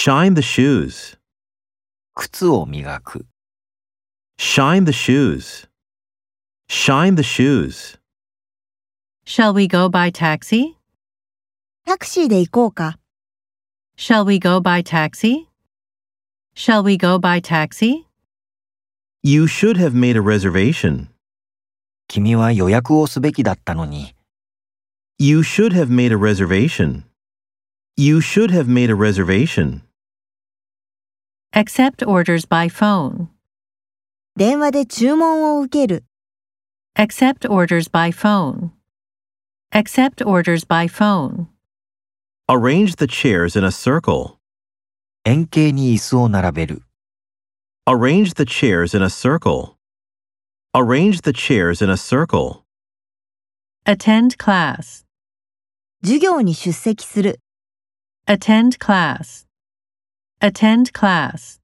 Shine the shoes. 靴を磨く。 Shine the shoes. Shine the shoes. Shall we go by taxi? タクシーで行こうか。 Shall we go by taxi? Shall we go by taxi? You should have made a reservation. 君は予約をすべきだったのに。 You should have made a reservation. You should have made a reservation. Accept orders by phone. 電話で注文を受ける。 Accept orders by phone. Accept orders by phone. Arrange the chairs in a circle. 円形に椅子を並べる。 Arrange the chairs in a circle. Arrange the chairs in a circle. Attend class. 授業に出席する。 Attend class. Attend class.